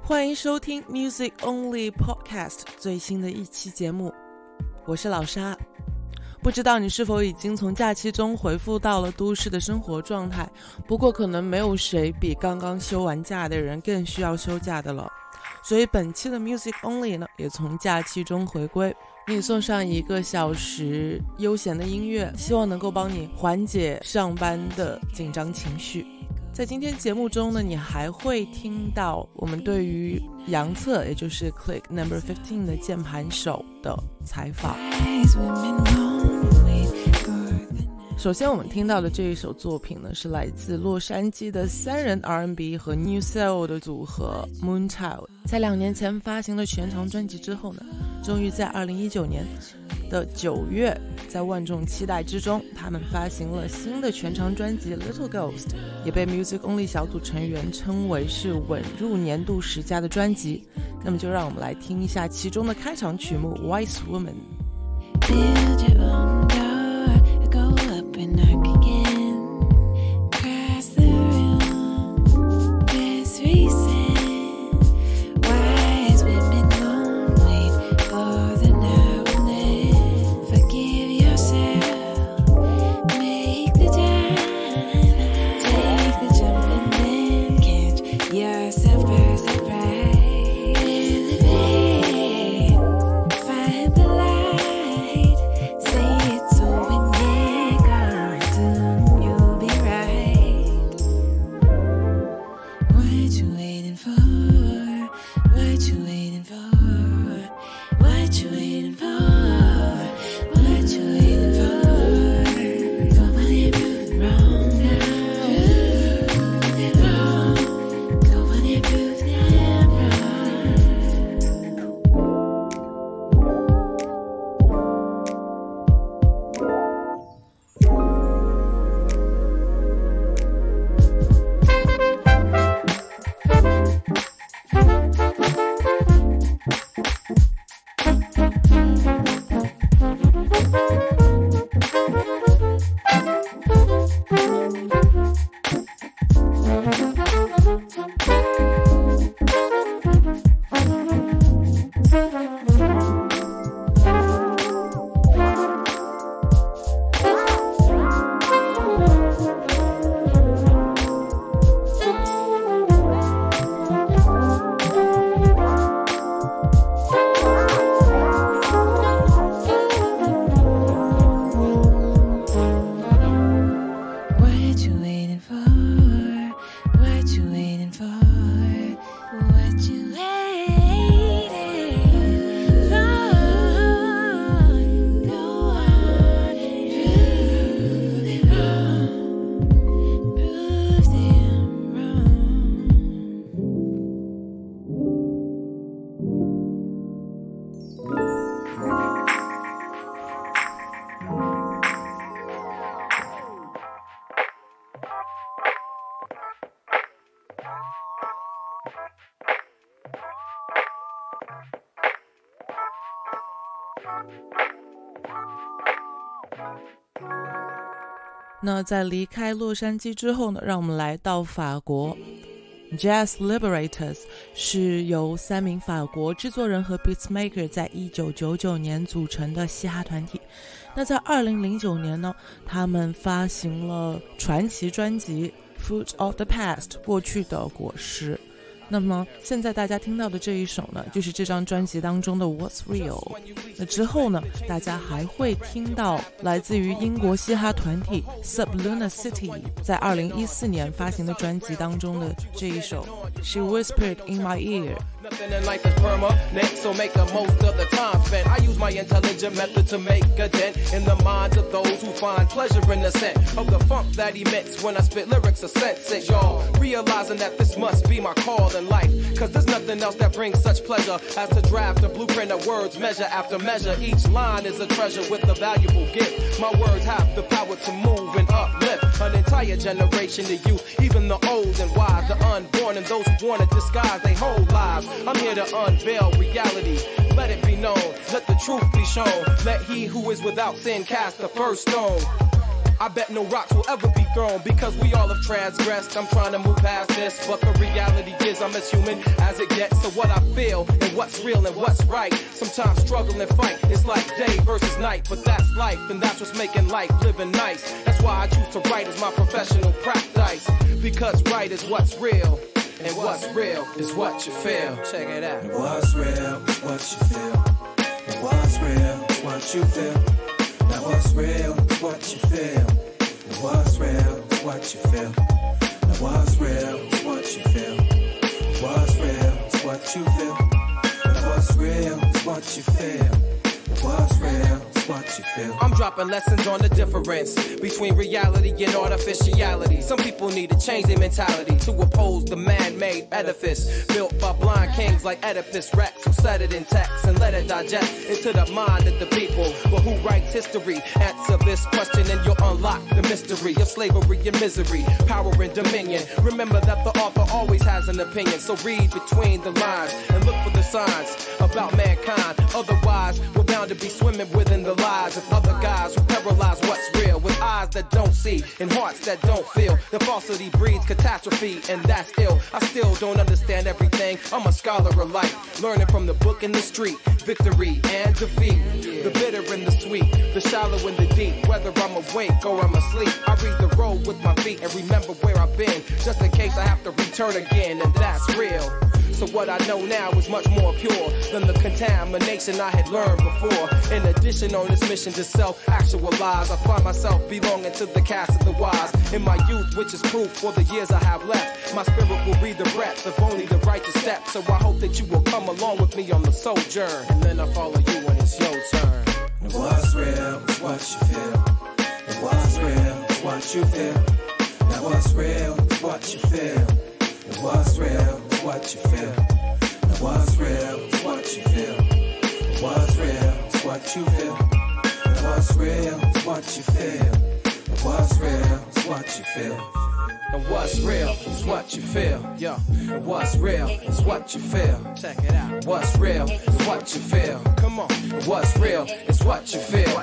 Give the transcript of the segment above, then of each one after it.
欢迎收听 Music Only Podcast 最新的一期节目，我是老沙。不知道你是否已经从假期中回复到了都市的生活状态，不过可能没有谁比刚刚休完假的人更需要休假的了。所以本期的 Music Only 呢，也从假期中回归，给你送上1个小时悠闲的音乐，希望能够帮你缓解上班的紧张情绪。在今天节目中呢，你还会听到我们对于杨策，也就是 Click No. 15的键盘手的采访。首先我们听到的这一首作品呢，是来自洛杉矶的3人 R&B 和 New Soul 的组合 Moonchild。 在2年前发行了全长专辑之后呢，终于在2019年的9月，在万众期待之中，他们发行了新的全长专辑 Little Ghost， 也被 Music Only 小组成员称为是稳入年度10佳的专辑。那么就让我们来听一下其中的开场曲目 Wise Woman。Build your own door, go up and knock again, cross the room, there's reason, wise women won't wait for the now and then, forgive yourself, make the time, take the jump and then catch yourself by surprise, elevate, find the light, say it's over.那在离开洛杉矶之后呢，让我们来到法国。Jazz Liberators 是由3名法国制作人和 beatsmaker 在1999年组成的嘻哈团体。那在2009年呢，他们发行了传奇专辑 Fruit of the Past 过去的果实。那么现在大家听到的这一首呢，就是这张专辑当中的 What's Real。 那之后呢，大家还会听到来自于英国嘻哈团体 Sublunar City 在2014年发行的专辑当中的这一首 She Whispered in My Ear。Nothing in life is permanent, so make the most of the time spent. I use my intelligent method to make a dent in the minds of those who find pleasure in the scent of the funk that emits when I spit lyrics of sense. Y'all realizing that this must be my call in life, cause there's nothing else that brings such pleasure as to draft a blueprint of words measure after measure. Each line is a treasure with a valuable gift. My words have the power to move and uplift an entire generation of youth, even the old and wise, the unborn and those who want to disguise their whole lives. I'm here to unveil reality. Let it be known. Let the truth be shown. Let he who is without sin cast the first stone. I bet no rocks will ever be thrown because we all have transgressed. I'm trying to move past this, but the reality is I'm as human as it gets. So what I feel and what's real and what's right, sometimes struggle and fight. It's like day versus night, but that's life, and that's what's making life living nice. That's why I choose to write as my professional practice, because right is what's real, and what's real is what you feel. Check it out. What's real is what you feel. And what's real is what you feel. Now what's real is what you feel. And what's real is what you feel. Now what's real is what you feel. What's real is what you feel. Now what's real is what you feel. What's real is what you feel. I'm dropping lessons on the difference between reality and artificiality. Some people need to change their mentality to oppose the man-made edifice built by blind kings like Oedipus Rex, who set it in text and let it digest into the mind of the people. But who writes history? Answer this question and you'll unlock the mystery of slavery and misery, power and dominion. Remember that the author always has an opinion, so read between the lines and look for the signs about mankind. Otherwise, we're bound to be swimming within the lies of other guys who paralyze what's real with eyes that don't see and hearts that don't feel. The falsity breeds catastrophe, and that's ill. I still don't understand everything. I'm a scholar of life, learning from the book and the street. Victory and defeat, the bitter and the sweet, the shallow and the deep. Whether I'm awake or I'm asleep, I read the road with my feet and remember where I've been, just in case I have to return again, and that's real. So what I know now is much more pure than the contamination I had learned before. In addition, on this mission to self-actualize, I find myself belonging to the cast of the wise. In my youth, which is proof for the years I have left, my spirit will read the breath of only the righteous steps. So I hope that you will come along with me on the sojourn, and then I follow you when it's your turn. And what's real is what you feel. And what's real is what you feel. Now what's real is what you feel. And what's real is what you feel. And what's real is what you feel. And what's real is what you feel. And what's real is what you feel. And what's real is what you feel. And what's real is what you feel. Yo, and what's real is what you feel. Check it out. What's real is what you feel. Come on. And what's real is what you feel.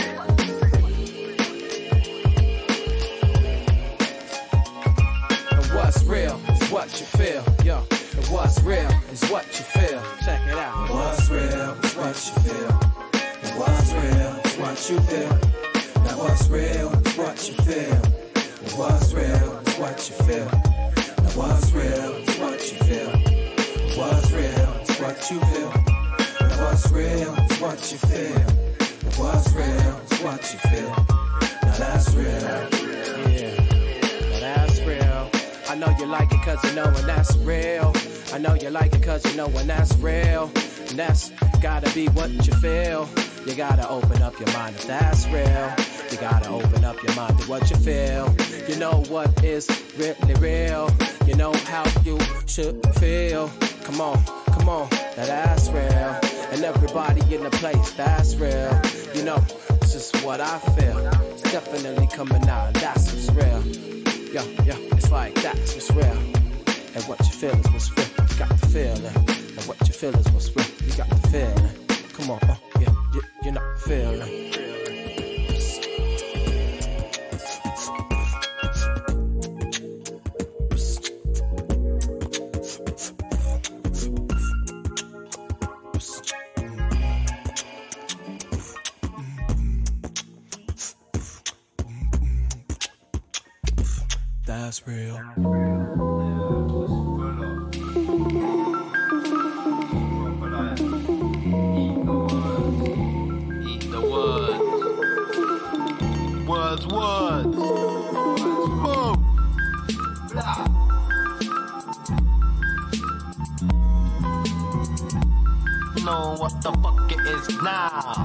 And what's real is what you feel. Yo, and what's real is what you feel. Check it out. And what's real is what you feel. And what's real is what you feel. Now what's real is what you feel. And what's real is what you feel. Now what's real is what you feel. What's real is what you feel. And what's real is what you feel. And what's real is what you feel. Now that's real. Yeah, now that's real. I know you like it cause you know when that's real. I know you like it cause you know when that's real. And that's gotta be what you feel. You gotta open up your mind if that's real. You gotta open up your mind to what you feel. You know what is really real. You know how you should feel. Come on, now that's real. And everybody in the place, that's real. You know, it's just what I feel. It's definitely coming out, and that's what's real. Yo, it's like that's what's real. And what you feel is what's real. You got the feeling. And what you feel is what's real. You got the feeling. Come on, you're not feeling. That's real. Eat the words. Words. Boom. Blah. Know what the fuck it is now.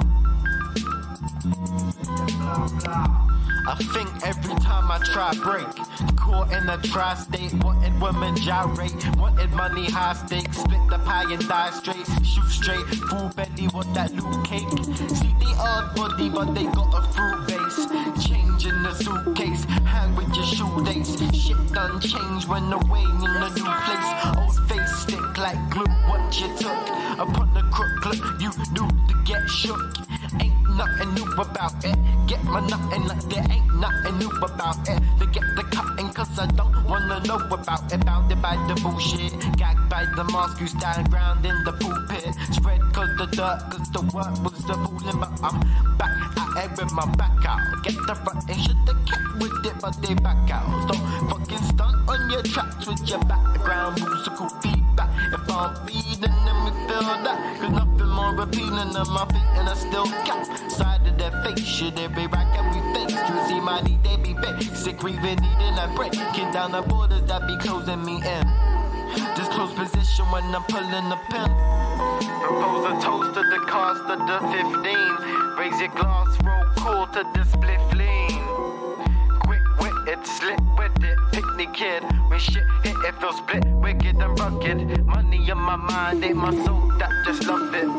I think every time I try break, caught in a tri-state, wanted women gyrate, wanted money high stakes, split the pie and die straight, shoot straight, full belly, want that loot cake. See the odd body, but they got a fruit base. Change in the suitcase, hang with your shoe dates. Shit done change when away in a new place. Old face stick like glue, what you took. Upon the crook, you do to get shook. Ain't nothing new about it. Get my nothing like there ain't nothing new about it. They get the cutting cause I don't wanna know about it. Bounded by the bullshit, gagged by the mask, you stand ground in the pulpit. Spread cause the dirt, cause the work was the fooling. But I'm back at it with my back out. Get the front and should've kept with it, but they back out. Don't fucking stunt on your tracks with your background musical feedback. If I'm feeding them, we feel that. Cause nothing more appealing than my feet and a still cap. Side of their face, shit, every rack and we face. You see money, they be basic, grieving, needing a break. Breaking down the borders that be closing me in. Just close position when I'm pulling the pin. Propose a toast to the cost of the 15. Raise your glass, roll cool to the split lean. Quick with it, slip with it, picnic kid. When shit hit, it feels split, wicked and rugged. Money in my mind, ain't my soul that just love it.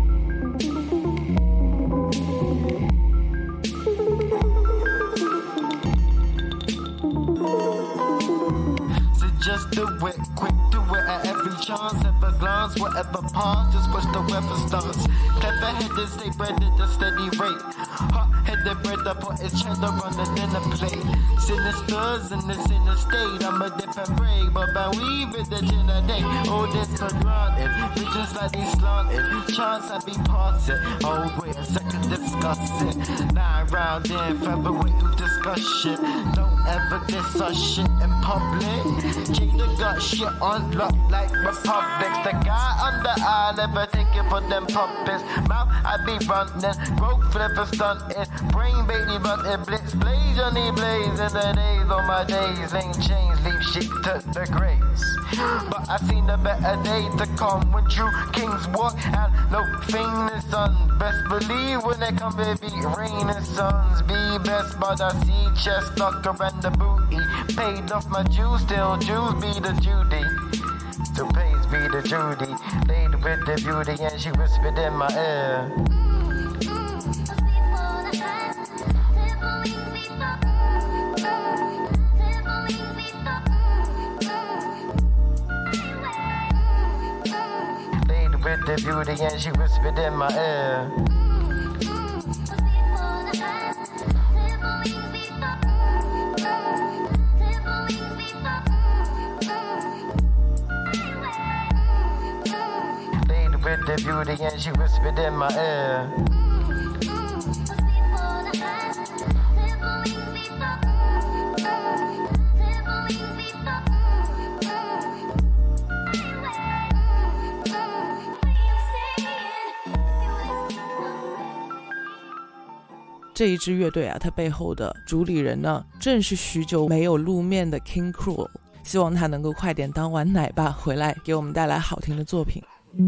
Just do it, quick do it at every chance. Ever glance, whatever pass, just push the weather stance. Clever headed, stay breaded at a steady rate. Hot headed bread up on his cheddar on the dinner plate. Sinisters in the sinner state, I'm a dip and break. But by weave it, the dinner day. All this for granted, visions like they slanted. Chance I be past it, oh wait a second, discuss it. 9 round in, featherweight to discuss shit. Don't ever diss us shit in public. Jada got shit on lock like Republics. The guy on the eye never take it for them puppets. Mouth I be running, broke flipper stunting. Brain baby running, blitz blaze on the blaze. In the days on my days, ain't changed, leave shit to the graves. But I seen a better day to come when true kings walk and no famous sun. Best believe when they come baby rain and suns. Be best but I see chest stuck around the booty. Paid off my Jews, still Jews be the Judy. Still pays be the Judy. Laid with the beauty and she whispered in my ear. Laid with the beauty and she whispered in my ear. With the beauty and she whispered in my ear. 这一支乐队啊，它背后的主理人呢，正是许久没有露面的 King Krule。希望他能够快点当完奶爸回来，给我们带来好听的作品。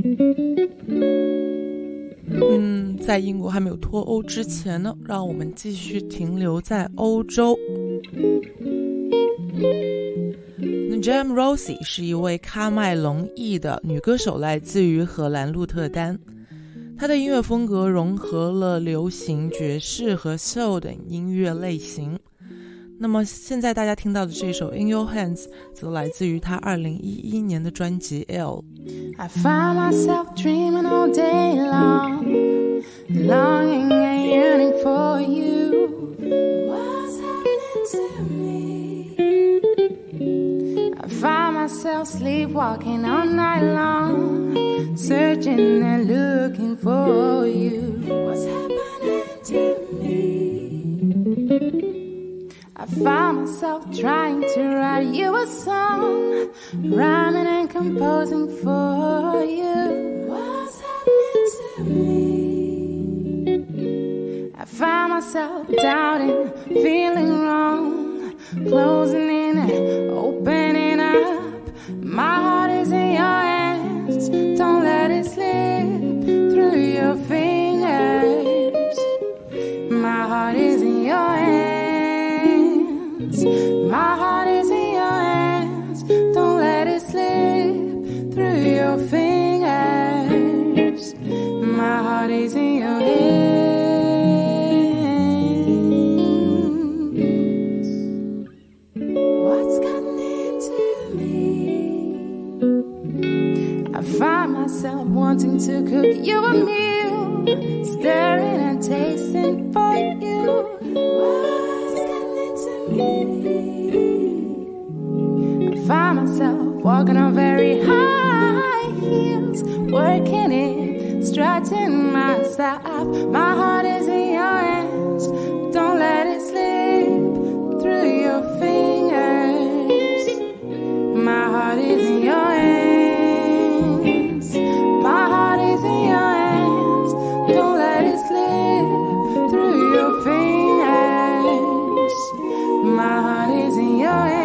在英国还没有脱欧之前呢，让我们继续停留在欧洲。Jam Rosie 是一位喀麦隆裔的女歌手，来自于荷兰鹿特丹。她的音乐风格融合了流行、爵士和 soul 等音乐类型。那么现在大家听到的这首 In Your Hands 则来自于她2011年的专辑 L。 I find myself dreaming all day long, longing and yearning for you. What's happening to me? I find myself sleepwalking all night long, searching and looking for you. What's happening to me? I find myself trying to write you a song, rhyming and composing for you. What's happening to me? I find myself doubting, feeling wrong, closing in and opening up. My heart is in your hands, don't let it slip through your fingers. My heart is in your hands.My heart is in your hands, don't let it slip through your fingers. My heart is in your hands. What's gotten into me? I find myself myself wanting to cook you a meal, staring and tasting for you. What's getting to me? I find myself walking on very high heels, working it, stretching myself. My heart is in your hands, don't let it slip through your fingers. My heart is in your hands, my heart is in your hands, don't let it slip through your fingers. My heart is in your hands.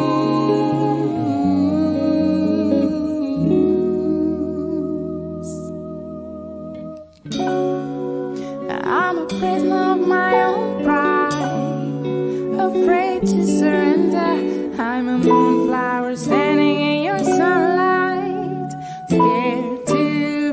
I'm a prisoner of my own pride, afraid to surrender. I'm a moonflower standing in your sunlight, scared to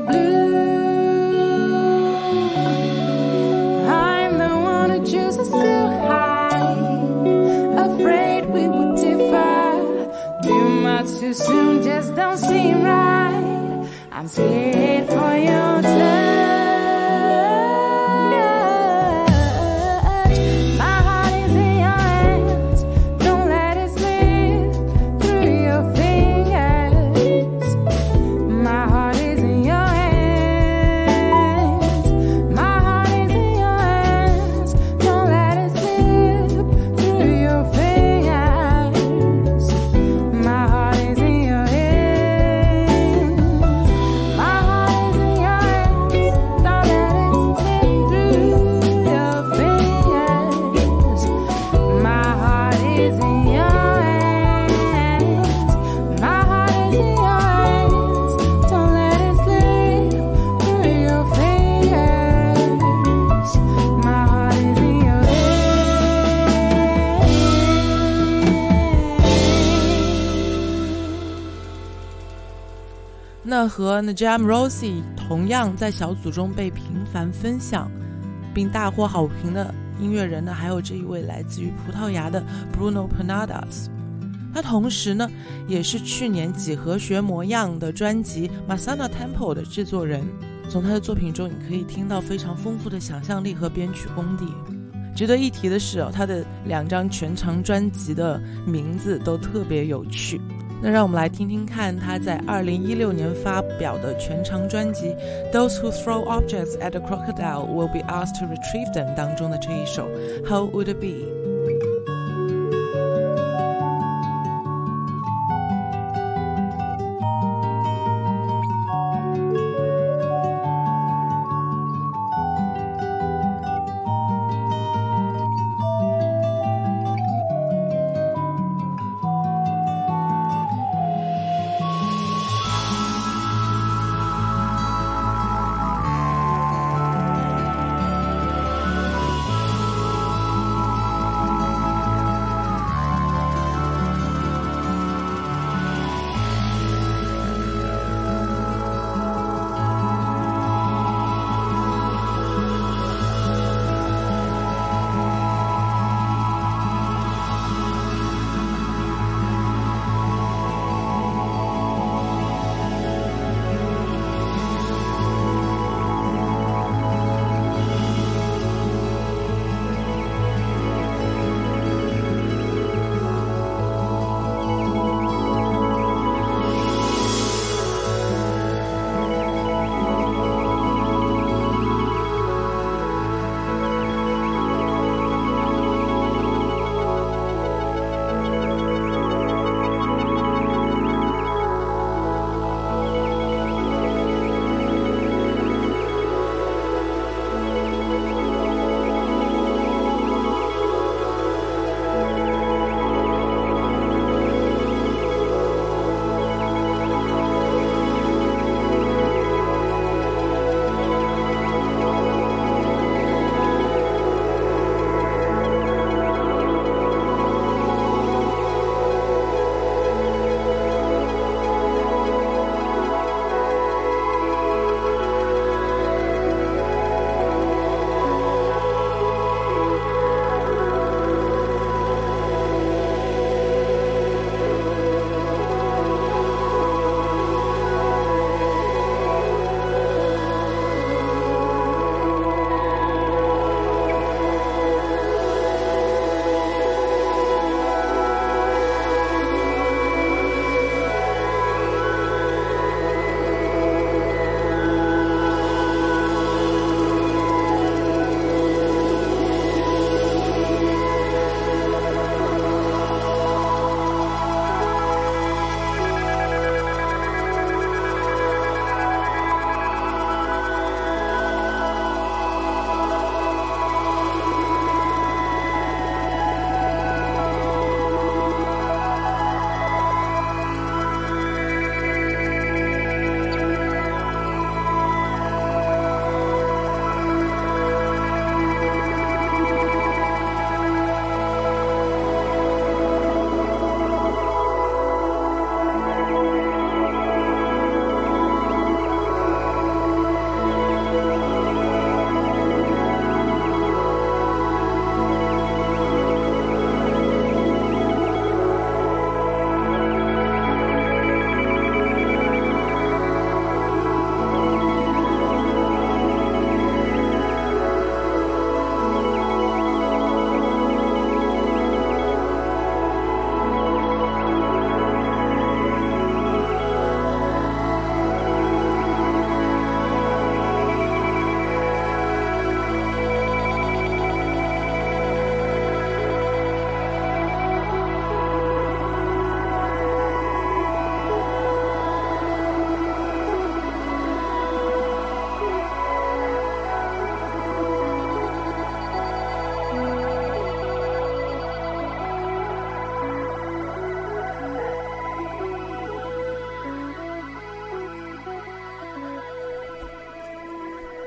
bloom. I'm the one who chooses to hide, afraid we would differ. Too much too soon just don't seem right. I'm scared for your touch. 那和 Najam Rosie 同样在小组中被频繁分享并大获好评的音乐人呢，还有这一位来自于葡萄牙的 Bruno Pennadas。他同时呢，也是去年几何学模样的专辑 Masana Tempo 的制作人。从他的作品中，你可以听到非常丰富的想象力和编曲功底。值得一提的是他的2张全长专辑的名字都特别有趣。那让我们来听听看他在2016年发表的全长专辑 Those Who Throw Objects at a Crocodile Will Be Asked to Retrieve Them 当中的这一首 How Would It Be。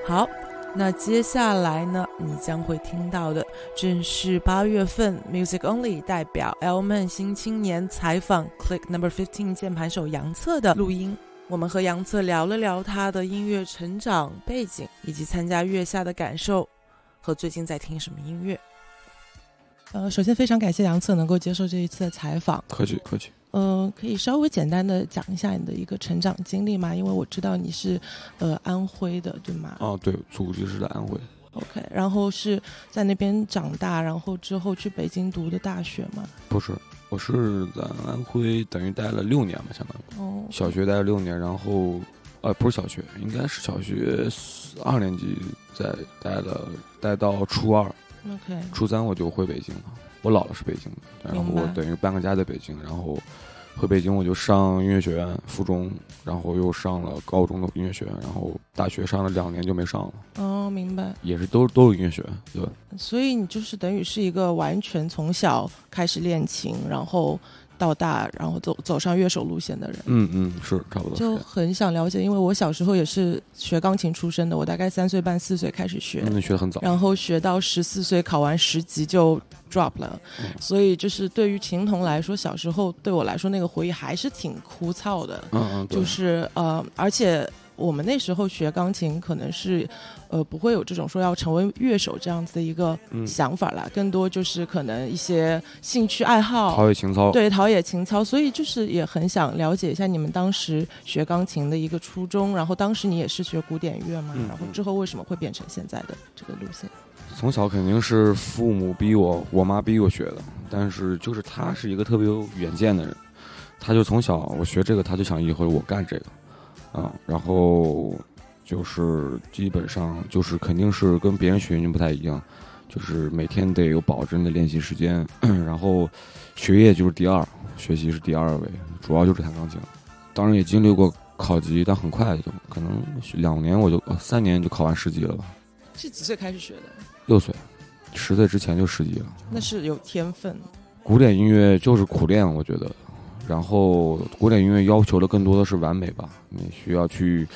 好，那接下来呢，你将会听到的正是8月份 Music Only 代表 L-Man 新青年采访 Click No.15 键盘手杨策的录音。我们和杨策聊了聊他的音乐成长背景，以及参加月下的感受和最近在听什么音乐。首先非常感谢杨策能够接受这一次的采访。 客气客气。 可以稍微简单的讲一下你的一个成长经历吗？因为我知道你是安徽的，对吗？ 对，祖籍是在安徽。 OK， 然后是在那边长大，然后之后去北京读的大学吗？ 不是，我是在安徽等于待了6年吧，相当于。小学待了6年，然后不是小学，应该是小学2年级待到初2。 OK， 初3我就回北京了。我姥姥是北京的，然后我等于搬个家在北京，然后回北京我就上音乐学院附中，然后又上了高中的音乐学院，然后大学上了2年就没上了。 明白。也是都是音乐学院，对。 所以你就是等于是一个完全从小开始练琴，然后到大，然后走上乐手路线的人。 是差不多。 就很想了解，因为我小时候也是学钢琴出身的，我大概3岁半4岁开始学。 你学得很早。然后学到14岁考完10级就 drop 了。所以就是对于琴童来说，小时候对我来说那个回忆还是挺枯燥的。就是而且我们那时候学钢琴可能是不会有这种说要成为乐手这样子的一个想法啦，更多就是可能一些兴趣爱好， 陶冶情操。 对，陶冶情操。所以就是也很想了解一下你们当时学钢琴的一个初衷，然后当时你也是学古典乐嘛，然后之后为什么会变成现在的这个路线？ 从小肯定是父母逼我妈逼我学的，但是就是他是一个特别有远见的人，他就从小我学这个，他就想以后我干这个。然后就是基本上就是肯定是跟别人学音乐不太一样，就是每天得有保证的练习时间，然后学业就是第2，学习是第2位，主要就是弹钢琴。当然也经历过考级，但很快就可能2年3年就考完10级了吧。 是几岁开始学的 ？6岁，10岁之前就10级了。 那是有天分。 古典音乐就是苦练，我觉得。然后古典音乐要求的更多的是完美吧，你需要去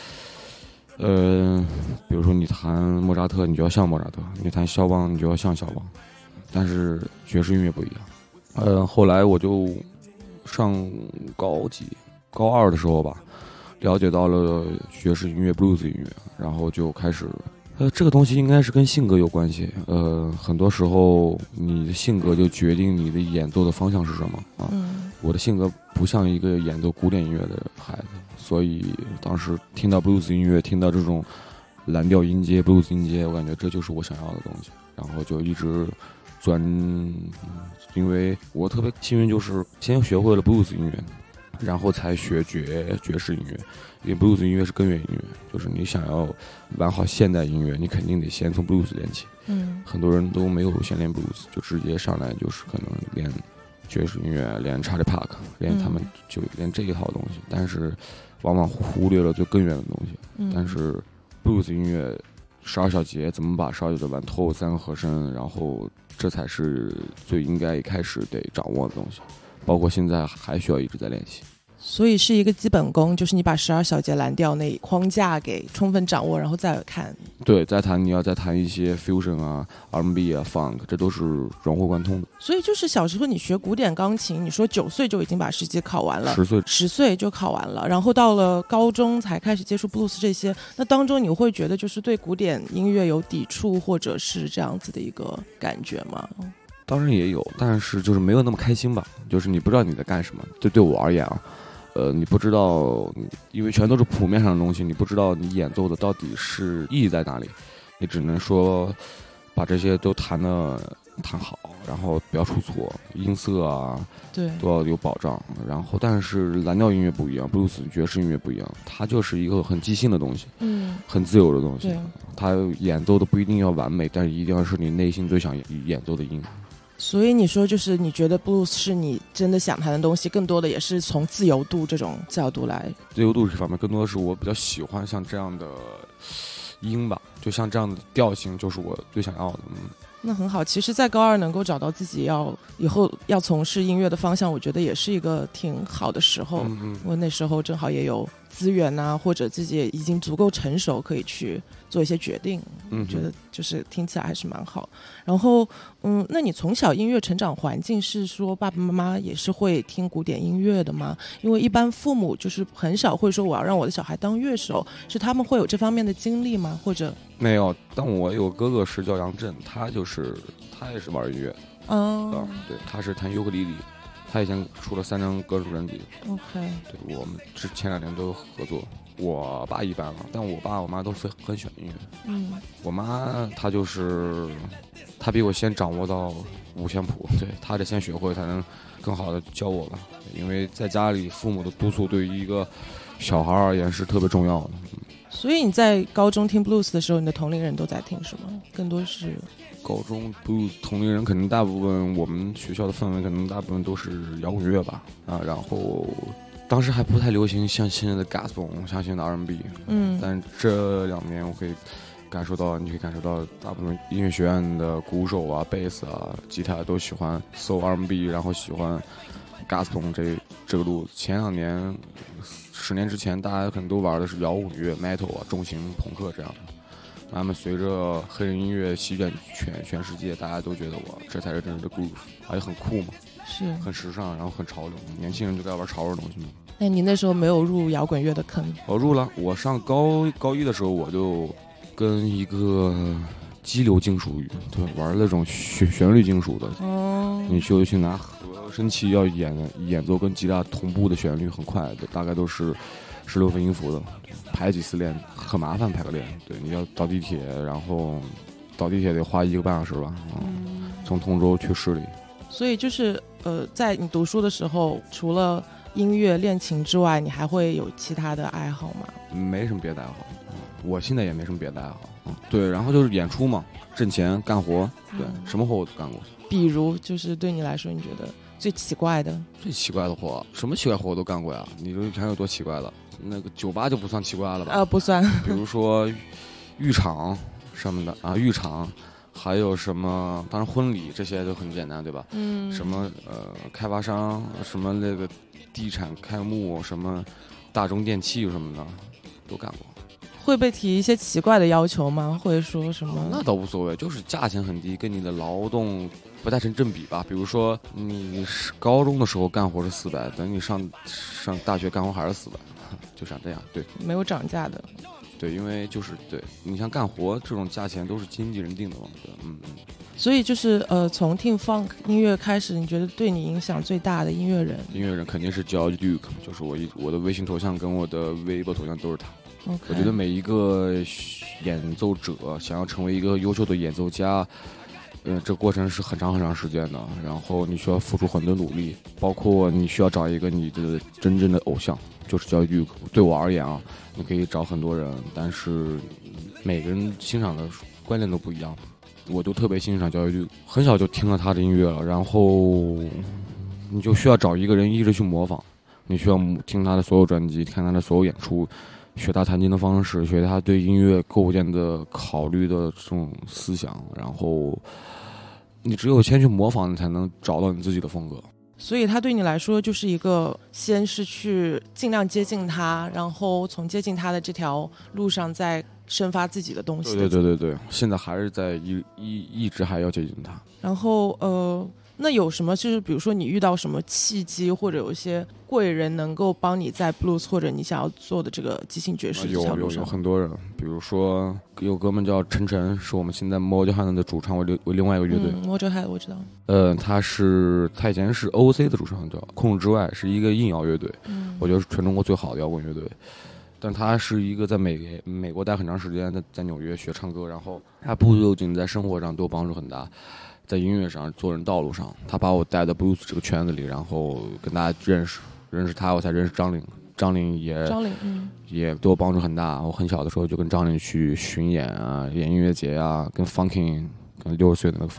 比如说你弹莫扎特，你就要像莫扎特；你弹肖邦，你就要像肖邦。但是爵士音乐不一样。后来我就上高2的时候吧，了解到了爵士音乐、blues 音乐，然后就开始。这个东西应该是跟性格有关系。很多时候你的性格就决定你的演奏的方向是什么啊。我的性格不像一个演奏古典音乐的孩子，所以当时听到 blues 音乐，听到这种蓝调音阶、blues 音阶，我感觉这就是我想要的东西，然后就一直因为我特别幸运，就是先学会了 blues 音乐，然后才学爵士音乐。因为 blues 音乐是根源音乐，就是你想要玩好现代音乐，你肯定得先从 blues 练起。很多人都没有先练 blues， 就直接上来就是可能练爵士音乐，练 Charlie Park， 练他们就练这一套东西，但是往往忽略了最根源的东西。但是 blues 音乐12小节怎么把12小节玩透，3个和声，然后这才是最应该一开始得掌握的东西，包括现在还需要一直在练习。 所以是一个基本功，就是你把12小节蓝调那框架给充分掌握，然后再看。 对，你要再弹一些 fusion 啊、R&B 啊、funk， 这都是融会贯通的。 所以就是小时候你学古典钢琴，你说9岁就已经把10级考完了，10岁就考完了，然后到了高中才开始接触 blues 这些，那当中你会觉得就是对古典音乐有抵触，或者是这样子的一个感觉吗？ 当然也有，但是就是没有那么开心吧，就是你不知道你在干什么。对我而言啊。你不知道，因为全都是谱面上的东西，你不知道你演奏的到底是意义在哪里，你只能说把这些都弹好，然后不要出错，音色啊， 对， 都要有保障。然后，但是蓝调音乐不一样，blues 爵士音乐不一样，它就是一个很即兴的东西，很自由的东西。它演奏的不一定要完美，但是一定要是你内心最想演奏的音。 所以你说就是你觉得 blues 是你真的想弹的东西，更多的也是从自由度这种角度来。 自由度这方面更多的是我比较喜欢像这样的音吧，就像这样的调性就是我最想要的。 那很好，其实在高2能够找到自己以后要从事音乐的方向，我觉得也是一个挺好的时候。我那时候正好也有资源啊，或者自己也已经足够成熟，可以去做一些决定。我觉得就是听起来还是蛮好。然后，那你从小音乐成长环境是说爸爸妈妈也是会听古典音乐的吗？因为一般父母就是很少会说我要让我的小孩当乐手，是他们会有这方面的经历吗？或者没有？但我有哥哥是叫杨震，他也是玩音乐。对，他是弹尤克里里。他以前出了3张歌手专辑。 OK， 对，我们前2年都有合作。我爸一般了，但我爸我妈都很喜欢音乐。我妈她比我先掌握到五线谱，对，她得先学会才能更好的教我吧。因为在家里父母的督促对于一个小孩而言是特别重要的。 所以你在高中听 blues 的时候，你的同龄人都在听什么？更多是高中 blues 同龄人肯定大部分，我们学校的氛围可能大部分都是摇滚乐吧。然后当时还不太流行像现在的 gospel， 像现在的 R&B。但这2年我可以感受到，大部分音乐学院的鼓手啊、贝斯啊、吉他都喜欢 soul R&B， 然后喜欢 gospel 这个路子。前2年10年之前，大家可能都玩的是摇滚乐、metal 啊、重型朋克这样的。慢慢随着黑人音乐席卷全世界，大家都觉得这才是真正的 groove， 而且很酷嘛， 是很时尚，然后很潮流。年轻人就该玩潮流的东西嘛。 那你那时候没有入摇滚乐的坑？ 我入了。我上高1的时候，我就跟一个激流金属对玩那种旋律金属的。你就去拿合声器要演奏跟吉他同步的旋律，很快的，大概都是16分音符的，排几次练很麻烦，排个练。对，你要倒地铁，然后倒地铁得花1个半小时吧。从通州去市里。所以就是在你读书的时候，除了音乐练琴之外，你还会有其他的爱好吗？ 没什么别的爱好。我现在也没什么别的爱好。对，然后就是演出嘛，挣钱干活。对，什么活我都干过。 比如就是对你来说，你觉得最奇怪的活，什么奇怪活我都干过呀。你说还有多奇怪了？那个酒吧就不算奇怪了吧？ 不算。 比如说浴场什么的啊，浴场还有什么？当然婚礼这些都很简单，对吧？什么开发商，什么那个地产开幕，什么大中电器什么的都干过。 会被提一些奇怪的要求吗？或者说什么？ 那倒无所谓，就是价钱很低，跟你的劳动不太成正比吧。比如说你高中的时候干活是400，等你上大学干活还是400，就像这样。对， 没有涨价的。 对，因为就是对你像干活这种价钱都是经纪人定的嘛。 所以就是从听 funk 音乐开始，你觉得对你影响最大的音乐人肯定是 George Duke， 就是我的微信头像跟我的微博头像都是他。我觉得每一个演奏者想要成为一个优秀的演奏家，这过程是很长时间的，然后你需要付出很多努力，包括你需要找一个你的真正的偶像，就是教育。对我而言啊，你可以找很多人，但是每个人欣赏的观念都不一样。我就特别欣赏教育，很小就听了他的音乐了，然后你就需要找一个人一直去模仿，你需要听他的所有专辑，看他的所有演出。学他弹琴的方式，学他对音乐构建的考虑的这种思想，然后你只有先去模仿，你才能找到你自己的风格。 所以他对你来说就是一个，先是去尽量接近他，然后从接近他的这条路上再生发自己的东西。 对，现在还是在一直还要接近他。 然后那有什么就是比如说你遇到什么契机，或者有一些贵人能够帮你在 blues 或者你想要做的这个即兴爵士这条路上？ 有很多人，比如说有哥们叫陈晨，是我们现在 Motorhead 的主唱，为另外一个乐队。 Motorhead 我知道。 他以前是 OOC 的主唱，叫控制之外，是一个硬摇乐队。我觉得是全中国最好的摇滚乐队。但他是一个在美国待很长时间，在纽约学唱歌，然后他不仅在生活上对我帮助很大，在音乐上做人道路上，他把我带到 blues 这个圈子里，然后跟大家认识他，我才认识张岭也对我帮助很大。我很小的时候就跟张岭去巡演啊，演音乐节啊，跟 Funkin 跟60岁的那个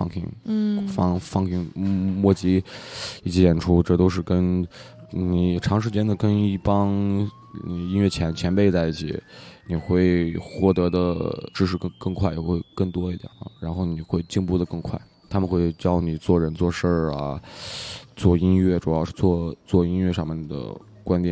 Funkin 莫吉一起演出，这都是跟你长时间的跟一帮音乐前辈在一起，你会获得的知识更快，也会更多一点啊，然后你会进步的更快。他们会教你做人做事啊，做音乐，主要是做音乐上面的观点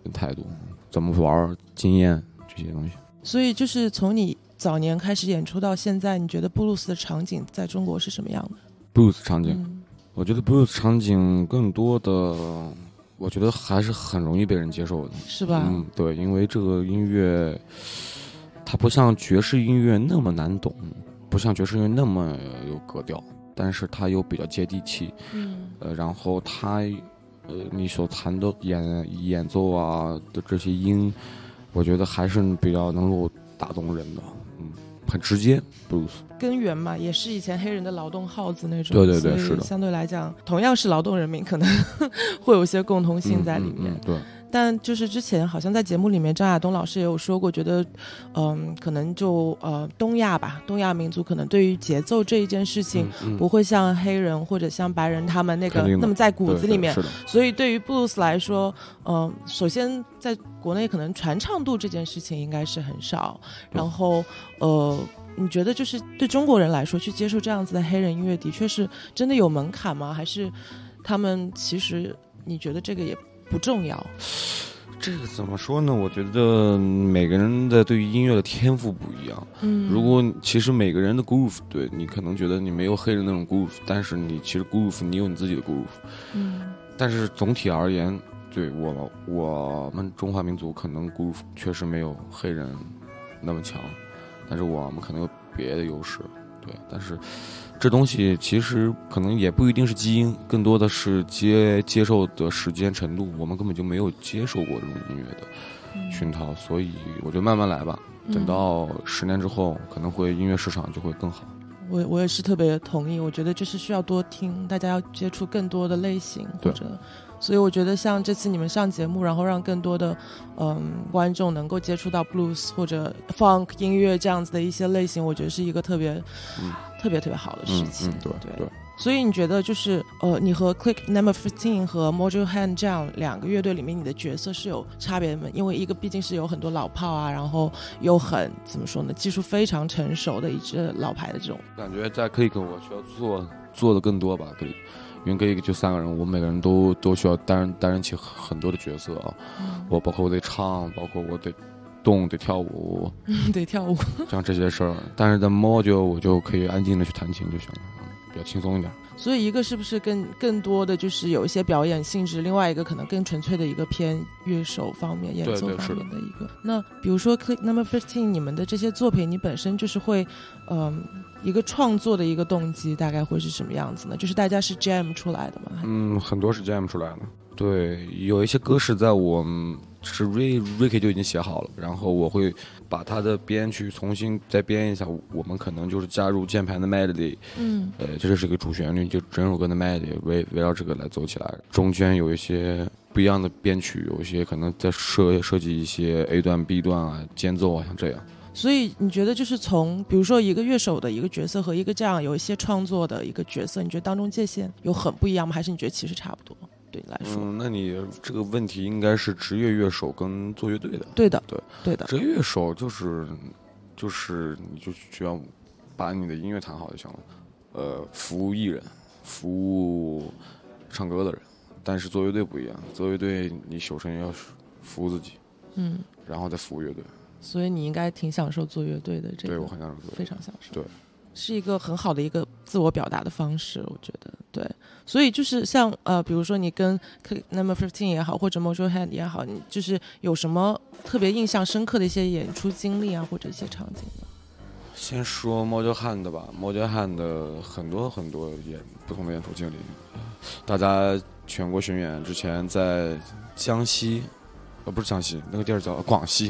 态度，怎么玩，经验这些东西。 所以就是从你早年开始演出到现在，你觉得布鲁斯的场景在中国是什么样的？ 布鲁斯场景，我觉得布鲁斯场景更多的，我觉得还是很容易被人接受的， 是吧？ 对，因为这个音乐，它不像爵士音乐那么难懂，不像爵士音乐那么有格调，但是它又比较接地气，然后它，你所弹的演奏啊的这些音，我觉得还是比较能够打动人的，很直接。布鲁斯根源嘛，也是以前黑人的劳动号子那种， 对，是的。 相对来讲，同样是劳动人民，可能会有一些共同性在里面。 对。 但就是之前好像在节目里面，张亚东老师也有说过，觉得，可能就东亚民族可能对于节奏这一件事情，不会像黑人或者像白人他们那么在骨子里面。 是的。 所以对于布鲁斯来说，首先在国内可能传唱度这件事情应该是很少，然后你觉得就是对中国人来说，去接受这样子的黑人音乐，的确是真的有门槛吗？还是他们其实你觉得这个也不重要？ 这个怎么说呢？我觉得每个人的对于音乐的天赋不一样。如果其实每个人的 groove， 对，你可能觉得你没有黑人那种 groove， 但是你其实 groove 你有你自己的 groove。但是总体而言，对我们中华民族可能 groove 确实没有黑人那么强，但是我们可能有别的优势。对，但是这东西其实可能也不一定是基因，更多的是接受的时间程度，我们根本就没有接受过这种音乐的熏陶，所以我觉得慢慢来吧，等到10年之后，可能会音乐市场就会更好。 我也是特别同意，我觉得就是需要多听，大家要接触更多的类型，或者，所以我觉得像这次你们上节目，然后让更多的观众能够接触到 blues 或者 funk 音乐这样子的一些类型，我觉得是一个特别好的事情。对。所以你觉得就是你和 Click Number 15和 Mojo Hand 这样2个乐队里面，你的角色是有差别的吗？因为一个毕竟是有很多老炮啊，然后又很怎么说呢，技术非常成熟的一支老牌的这种。 感觉在 Click 我需要做的更多吧，可以。因为Click就3个人，我们每个人都需要担任起很多的角色啊。我包括我得唱，包括我得动，得跳舞， 得跳舞， 像这些事儿。但是在 Mojo 我就可以安静的去弹琴就行了。比较轻松一点。 所以一个是不是更多的就是有一些表演性质，另外一个可能更纯粹的一个偏乐手方面演奏方面的一个。那比如说 Click Number 15你们的这些作品，你本身就是会一个创作的一个动机大概会是什么样子呢？就是大家是 jam 出来的吗？ 很多是 jam 出来的。对，有一些歌是在我们是 Ricky 就已经写好了，然后我会把他的编曲重新再编一下，我们可能就是加入键盘的 melody，这就是一个主旋律，就整首歌的 melody 围绕这个来走起来，中间有一些不一样的编曲，有一些可能在设计一些 A 段 B 段啊，间奏啊，像这样。 所以你觉得就是从比如说一个乐手的一个角色和一个这样有一些创作的一个角色，你觉得当中界限有很不一样吗？还是你觉得其实差不多？对你来说， 那你这个问题应该是职业乐手跟做乐队的。 对的。 职业乐手就是你就需要把你的音乐弹好就行了，服务艺人，服务唱歌的人。但是做乐队不一样，做乐队你首先要服务自己，然后再服务乐队。所以你应该挺享受做乐队的，这个对我很享受， 非常享受。 对。 是一个很好的一个自我表达的方式，我觉得。对，所以就是像比如说你跟 Number 15也好，或者 Mojo Hand 也好，你就是有什么特别印象深刻的一些演出经历啊，或者一些场景呢？ 先说 Mojo Hand 吧。Mojo Hand 很多不同的演出经历。大家全国巡演之前在江西，不是江西，那个地儿叫广西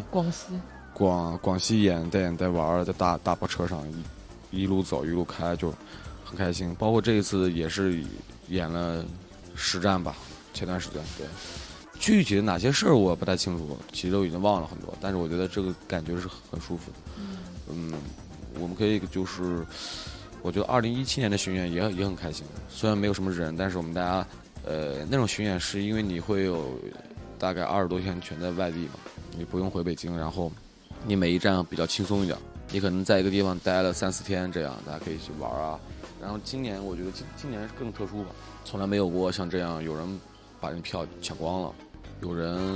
演带玩，在大巴车上一路走一路开，就很开心。包括这一次也是演了10站吧，前段时间。对，具体的哪些事儿我不太清楚，其实都已经忘了很多，但是我觉得这个感觉是很舒服的。我们可以就是我觉得2017年的巡演也很开心，虽然没有什么人，但是我们大家那种巡演是因为你会有大概20多天全在外地嘛，你不用回北京，然后你每一站比较轻松一点，你可能在一个地方待了3-4天，这样大家可以去玩啊。然后今年我觉得今年更特殊吧，从来没有过像这样有人把人票抢光了，有人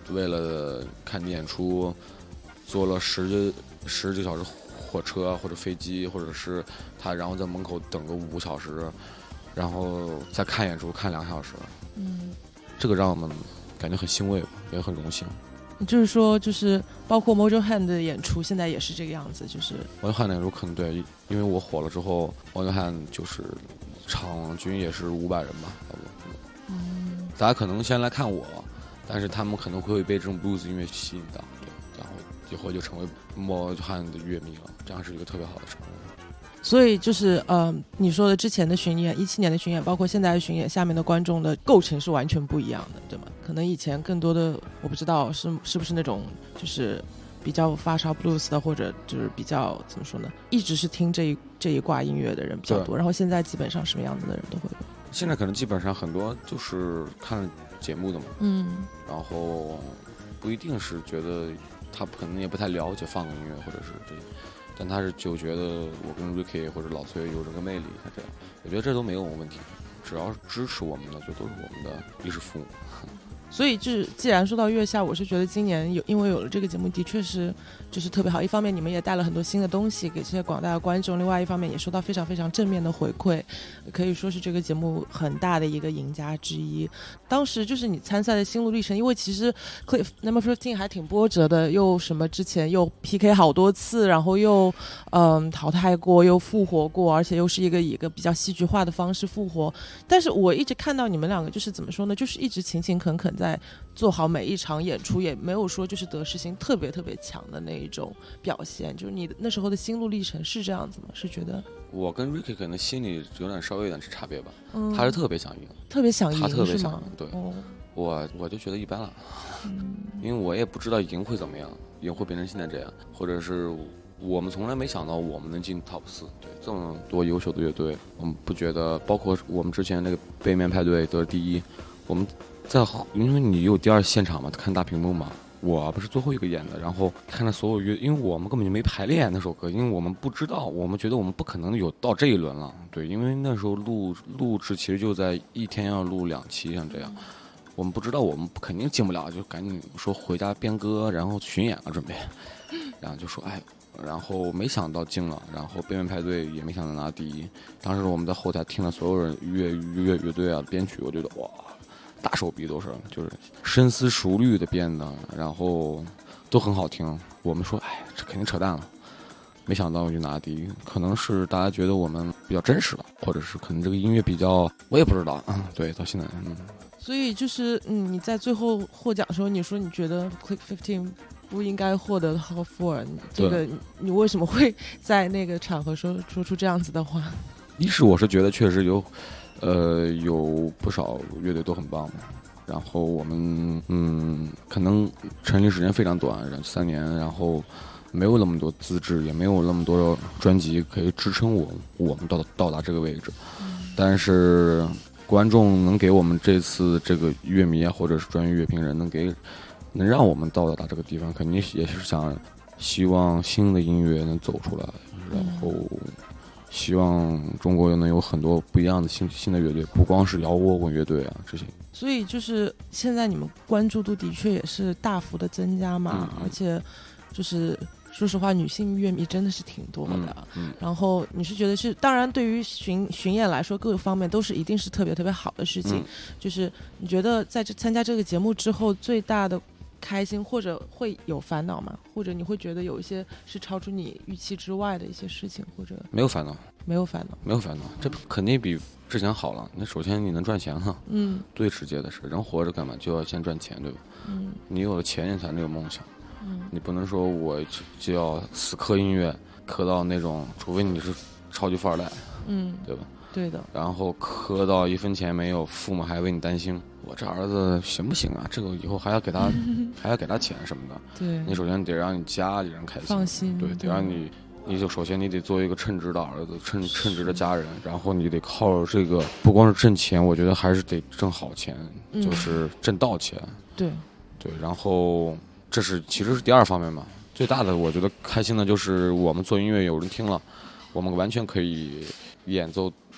为了看你演出，坐了十几个小时火车或者飞机，或者是他然后在门口等个5小时，然后再看演出看2小时。这个让我们感觉很欣慰，也很荣幸。 就是说，就是包括 Mojo Hand 的演出，现在也是这个样子，就是 Mojo Hand 的演出可能对，因为我火了之后 ，Mojo Hand 就是场均也是500人吧，差不多。大家可能先来看我，但是他们可能会被这种 blues 音乐吸引到，对，然后以后就成为 Mojo Hand 的乐迷了，这样是一个特别好的成功。 所以就是你说的之前的巡演，17年的巡演，包括现在的巡演，下面的观众的构成是完全不一样的，对吗？可能以前更多的我不知道是不是那种就是比较发烧 blues 的，或者就是比较怎么说呢，一直是听这一挂音乐的人比较多，然后现在基本上什么样子的人都会有。 现在可能基本上很多就是看节目的嘛，然后不一定是觉得他可能也不太了解放个音乐或者是这个。但他是就觉得我跟 Ricky 或者老崔有这个魅力，他这样，我觉得这都没有问题，只要是支持我们的，就都是我们的衣食父母。 所以就是既然说到月下，我是觉得今年因为有了这个节目，的确是就是特别好。一方面你们也带了很多新的东西给这些广大的观众，另外一方面也收到非常非常正面的回馈，可以说是这个节目很大的一个赢家之一。当时就是你参赛的心路历程，因为其实 Cliff No.15 还挺波折的，又什么之前又 PK 好多次，然后又淘汰过，又复活过，而且又是以一个比较戏剧化的方式复活。但是我一直看到你们两个就是怎么说呢，就是一直勤勤恳恳在做好每一场演出，也没有说就是得失心特别特别强的那一种表现。就是你那时候的心路历程是这样子吗？是觉得我跟 Ricky 可能心里稍微有点差别吧，他是特别想赢， 特别想赢， 他特别想赢，对，我就觉得一般了，因为我也不知道赢会怎么样，赢会变成现在这样，或者是我们从来没想到我们能进 Top 4，对，这么多优秀的乐队，我们不觉得，包括我们之前那个背面派对得第1，我们因为你有第2现场嘛，看大屏幕嘛，我不是最后一个演的，然后看到所有乐，因为我们根本就没排练那首歌，因为我们不知道，我们觉得我们不可能有到这一轮了，对，因为那时候录制其实就在一天要录2期，像这样，我们不知道我们肯定进不了，就赶紧说回家编歌，然后巡演了准备，然后就说然后没想到进了，然后背面派对也没想到拿第1，当时我们在后台听了所有人乐队啊编曲，我觉得哇。大手笔都是，就是深思熟虑的编的，然后都很好听。我们说，这肯定扯淡了，没想到就拿第1，可能是大家觉得我们比较真实了，或者是可能这个音乐比较，我也不知道。对，到现在， 所以就是你在最后获奖的时候，你说你觉得 Click 15不应该获得 Top 4，这个你为什么会在那个场合说出这样子的话？ 一是我是觉得确实有不少乐队都很棒嘛，然后我们可能成立时间非常短，3年，然后没有那么多资质，也没有那么多专辑可以支撑我们到达这个位置，但是观众能给我们这次这个乐迷啊，或者是专业乐评人能让我们到达这个地方，肯定也是希望新的音乐能走出来，然后希望中国能有很多不一样的新的乐队，不光是摇滚乐队啊这些。 所以就是现在你们关注度的确也是大幅的增加嘛，而且就是说实话，女性乐迷真的是挺多的。然后你是觉得是，当然对于巡演来说，各个方面都是一定是特别特别好的事情。就是你觉得在参加这个节目之后，最大的开心或者会有烦恼吗？或者你会觉得有一些是超出你预期之外的一些事情，或者没有烦恼， 没有烦恼， 没有烦恼，这肯定比之前好了。那首先你能赚钱哈，最直接的是人活着干嘛就要先赚钱，对吧？你有了钱你才能有梦想，你不能说我就要死磕音乐，磕到那种，除非你是超级富二代，对吧？ 对的。然后磕到1分钱没有，父母还为你担心，我这儿子行不行啊？这个以后还要给他钱什么的。对，你首先得让你家里人开心， 放心。对， 得让你就首先你得做一个称职的儿子，称职的家人，然后你得靠这个，不光是挣钱，我觉得还是得挣好钱，就是挣到钱。对，然后这是其实是第二方面嘛。最大的我觉得开心的就是我们做音乐有人听了，我们完全可以演奏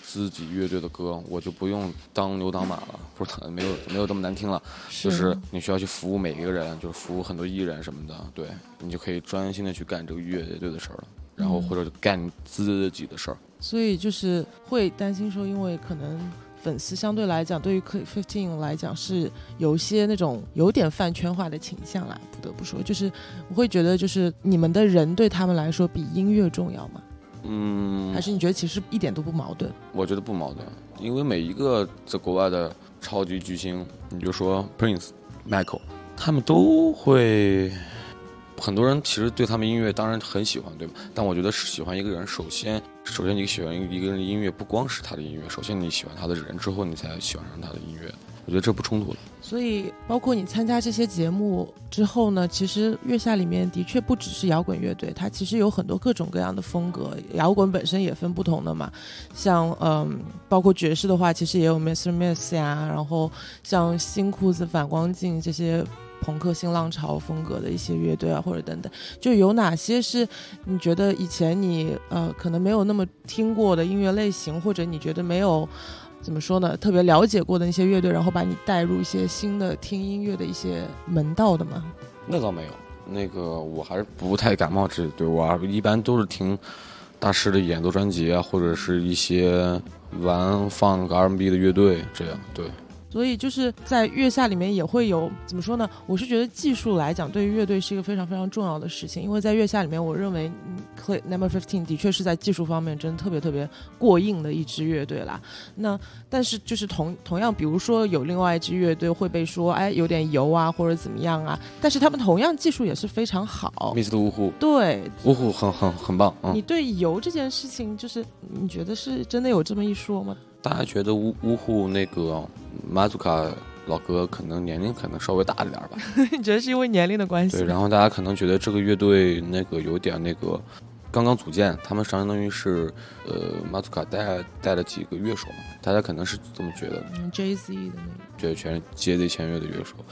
自己乐队的歌，我就不用当牛当马了，不是没有这么难听了，就是你需要去服务每一个人，就是服务很多艺人什么的，对，你就可以专心的去干这个乐队的事儿了，然后或者干自己的事儿。 所以就是会担心说，因为可能粉丝相对来讲，对于 Click 15来讲是有一些那种有点饭圈化的倾向啦，不得不说，就是我会觉得就是你们的人对他们来说比音乐重要吗？还是你觉得其实一点都不矛盾？ 我觉得不矛盾，因为每一个在国外的超级巨星，你就说 Prince、Michael， 他们都会，很多人其实对他们音乐当然很喜欢，对吧？但我觉得喜欢一个人，首先你喜欢一个人的音乐，不光是他的音乐，首先你喜欢他的人之后，你才喜欢上他的音乐。我觉得这不冲突的。 所以包括你参加这些节目之后呢，其实月下里面的确不只是摇滚乐队，它其实有很多各种各样的风格，摇滚本身也分不同的嘛，像包括爵士的话其实也有 Mr. Miss 呀，然后像新裤子、反光镜这些朋克新浪潮风格的一些乐队啊，或者等等，就有哪些是你觉得以前你可能没有那么听过的音乐类型，或者你觉得没有怎么说呢，特别了解过的那些乐队，然后把你带入一些新的听音乐的一些门道的吗？ 那倒没有，那个我还是不太感冒这对，我一般都是听大师的演奏专辑啊，或者是一些玩放个 R&B 的乐队这样，对。 所以就是在月下里面也会有怎么说呢，我是觉得技术来讲对于乐队是一个非常非常重要的事情，因为在月下里面我认为Click No. 15的确是在技术方面真的特别特别过硬的一支乐队啦。那但是就是同样比如说有另外一支乐队会被说哎有点油啊或者怎么样啊，但是他们同样技术也是非常好。 Mr. 芜湖， 对， 芜湖很棒。 你对油这件事情就是你觉得是真的有这么一说吗？ 大家觉得芜湖那个马祖卡老哥可能年龄可能稍微大一点吧？ 你觉得是因为年龄的关系？ 对，然后大家可能觉得这个乐队那个有点那个刚刚组建，他们相当于是马祖卡带了几个乐手嘛，大家可能是这么觉得的。 JZ 的那个， 对，全是JZ签约的乐手，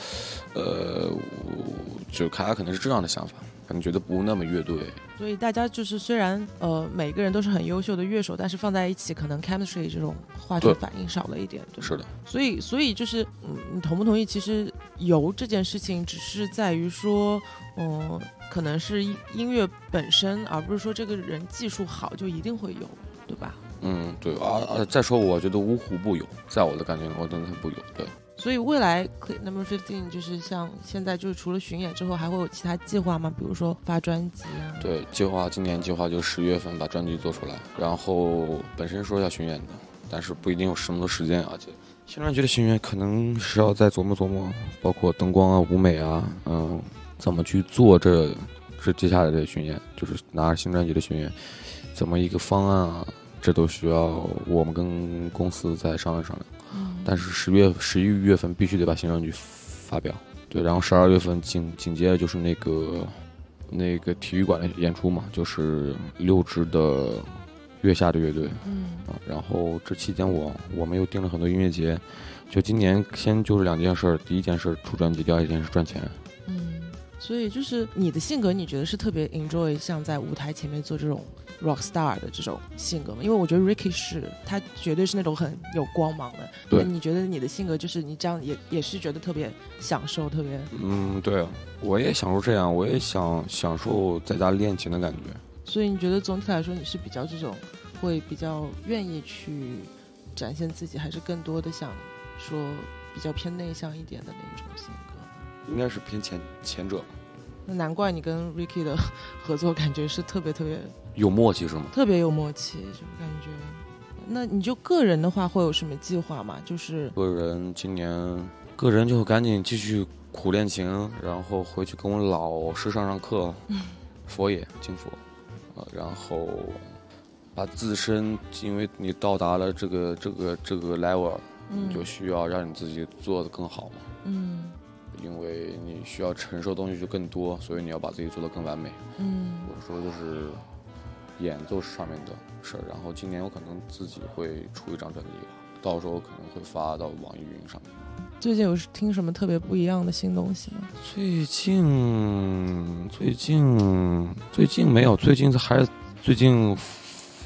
就他可能是这样的想法，可能觉得不那么乐队。 所以大家就是虽然每个人都是很优秀的乐手，但是放在一起可能 chemistry 这种化学反应少了一点，对， 是的。 所以就是你同不同意？其实油这件事情只是在于说，可能是音乐本身，而不是说这个人技术好就一定会有，对吧？ 对啊，再说我觉得芜湖不油，在我的感觉我真的不油，对。 所以未来 Click No. 15就是像现在就是除了巡演之后还会有其他计划吗？比如说发专辑啊？ 对，今年计划就10月份把专辑做出来，然后本身说要巡演的，但是不一定有什么多时间，而且新专辑的巡演可能是要再琢磨琢磨，包括灯光啊、舞美啊，怎么去做这接下来的巡演，就是拿着新专辑的巡演，怎么一个方案啊，这都需要我们跟公司再商量商量。但是11月份必须得把新专辑发表，对，然后12月份紧接着就是那个体育馆的演出嘛，就是6支的月下的乐队，然后这期间我们又订了很多音乐节，就今年先就是2件事，第一件事出专辑，第二件事赚钱。 所以就是你的性格，你觉得是特别 enjoy 像在舞台前面做这种 rock star 的这种性格吗？因为我觉得 Ricky 他绝对是那种很有光芒的。 对， 你觉得你的性格就是你这样也是觉得特别享受，特别对啊，我也享受这样，我也享受在家练琴的感觉。所以你觉得总体来说你是比较这种会比较愿意去展现自己，还是更多的想说比较偏内向一点的那种性格？ 应该是偏前者。 那难怪你跟 Ricky 的合作感觉是特别特别有默契，是吗？ 特别有默契，这种感觉。那你就个人的话会有什么计划吗？就是今年个人就赶紧继续苦练琴，然后回去跟我老师上课，佛爷敬佛，然后把自身，因为你到达了这个 level，你就需要让你自己做得更好嘛。因为你需要承受的东西就更多，所以你要把自己做得更完美。我说就是演奏上面的事儿，然后今年我可能自己会出一张专辑，到时候可能会发到网易云上面。 最近有听什么特别不一样的新东西吗？ 最近没有，最近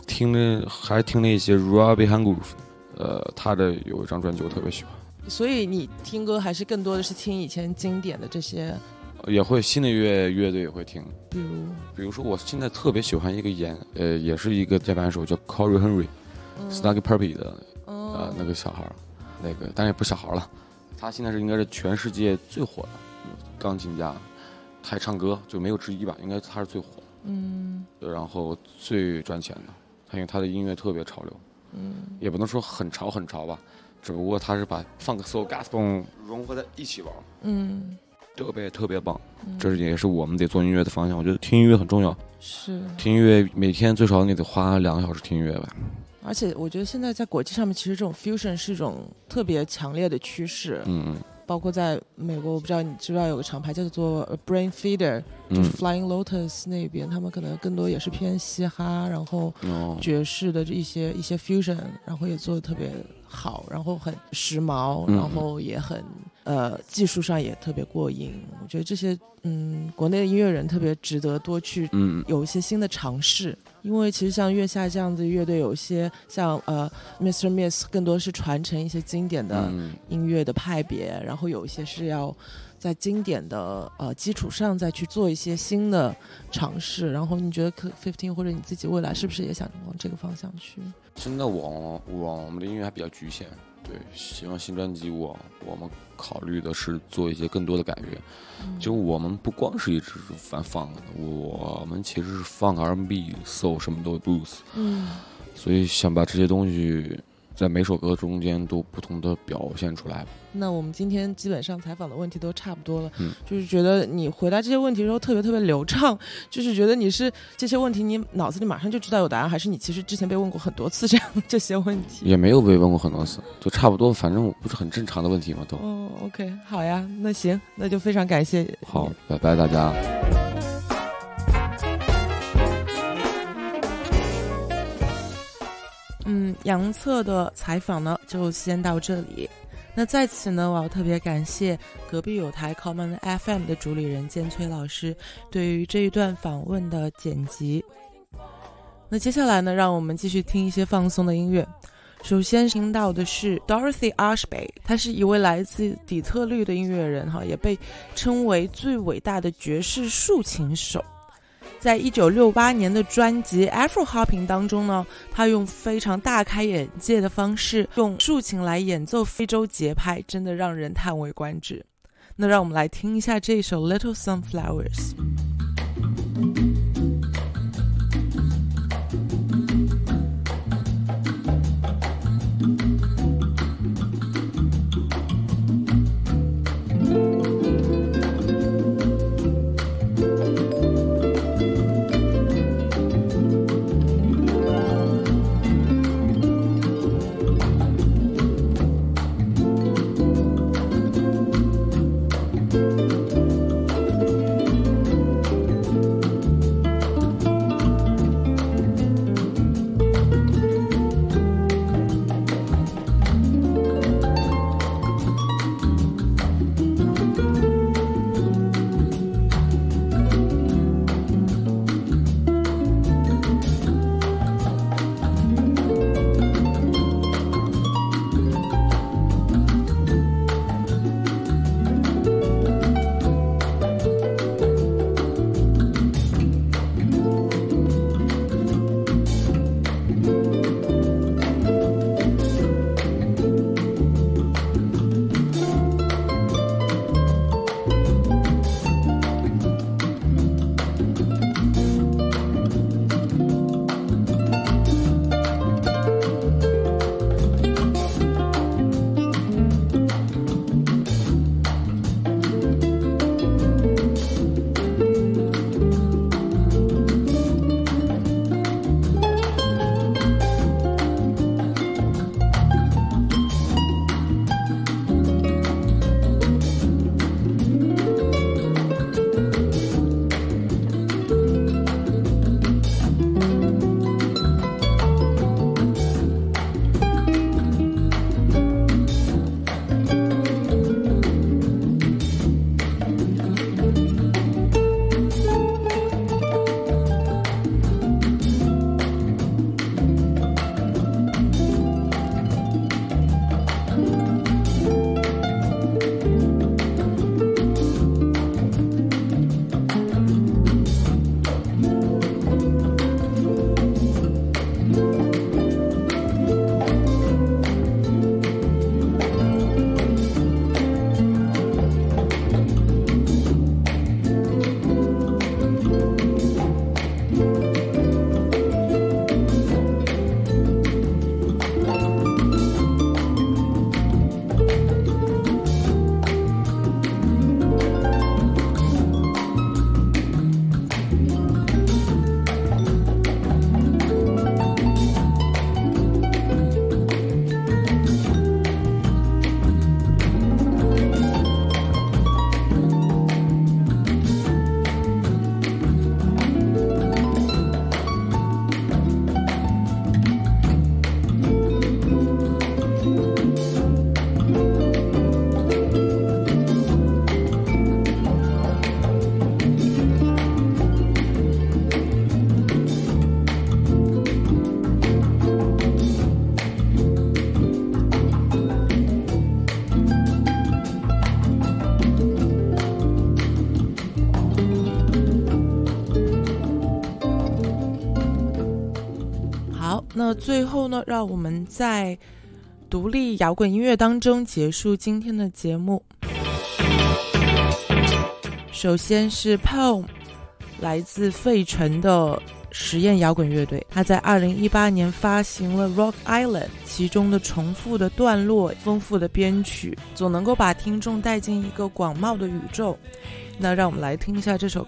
还听了一些 Robbie Hangroove， 他的有一张专辑我特别喜欢。 所以你听歌还是更多的是听以前经典的这些， 也会新的乐队也会听， 比如说我现在特别喜欢一个也是一个键盘手叫 Corey Henry，Snarky Puppy 的那个小孩，那个当然也不小孩了，他现在应该是全世界最火的钢琴家，他还唱歌就没有之一吧，应该他是最火的，然后最赚钱的，因为他的音乐特别潮流，也不能说很潮吧，只不过他是把 Funk Soul Gospel 融合在一起玩，特别棒，这也是我们得做音乐的方向。我觉得听音乐很重要， 是听音乐每天最少你得花2个小时听音乐吧。 而且我觉得现在在国际上面，其实这种 fusion 是一种特别强烈的趋势。包括在美国，我不知道你知不知道有个厂牌叫做 Brain Feeder，就是 Flying Lotus 那边，他们可能更多也是偏嘻哈，然后爵士的一些 fusion， 然后也做得特别好，然后很时髦，然后也很技术上也特别过硬。我觉得这些国内的音乐人特别值得多去有一些新的尝试。因为其实像月下这样子乐队，有一些像Mr. Miss 更多是传承一些经典的音乐的派别，然后有一些是要在经典的基础上再去做一些新的尝试。然后你觉得 Cliff15 或者你自己未来是不是也想往这个方向去？ 现在我们的音乐还比较局限，对，希望新专辑我们考虑的是做一些更多的改变。就我们不光是一直反 funk， 我们其实是 funk R&B、soul 什么都有 blues，所以想把这些东西在每首歌中间都不同的表现出来。 那我们今天基本上采访的问题都差不多了，就是觉得你回答这些问题的时候特别特别流畅，就是觉得你是这些问题你脑子里马上就知道有答案，还是你其实之前被问过很多次这些问题？也没有被问过很多次，就差不多，反正不是很正常的问题嘛都。 OK， 好呀，那行，那就非常感谢。 好，拜拜大家。 杨策的采访呢就先到这里。那在此呢，我要特别感谢隔壁有台 Common FM 的主理人建崔老师对于这一段访问的剪辑。那接下来呢，让我们继续听一些放松的音乐。首先听到的是 Dorothy Ashby， 她是一位来自底特律的音乐人，也被称为最伟大的爵士竖琴手。在1968年的专辑 Afro Hopping 当中呢，他用非常大开眼界的方式用竖琴来演奏非洲节拍，真的让人叹为观止。那让我们来听一下这首 Little Sunflowers。 那最后呢，让我们在独立摇滚音乐当中结束今天的节目。首先是 Poem， 来自费城的实验摇滚乐队，他在2018年发行了 Rock Island， 其中的重复的段落、丰富的编曲，总能够把听众带进一个广袤的宇宙。那让我们来听一下这首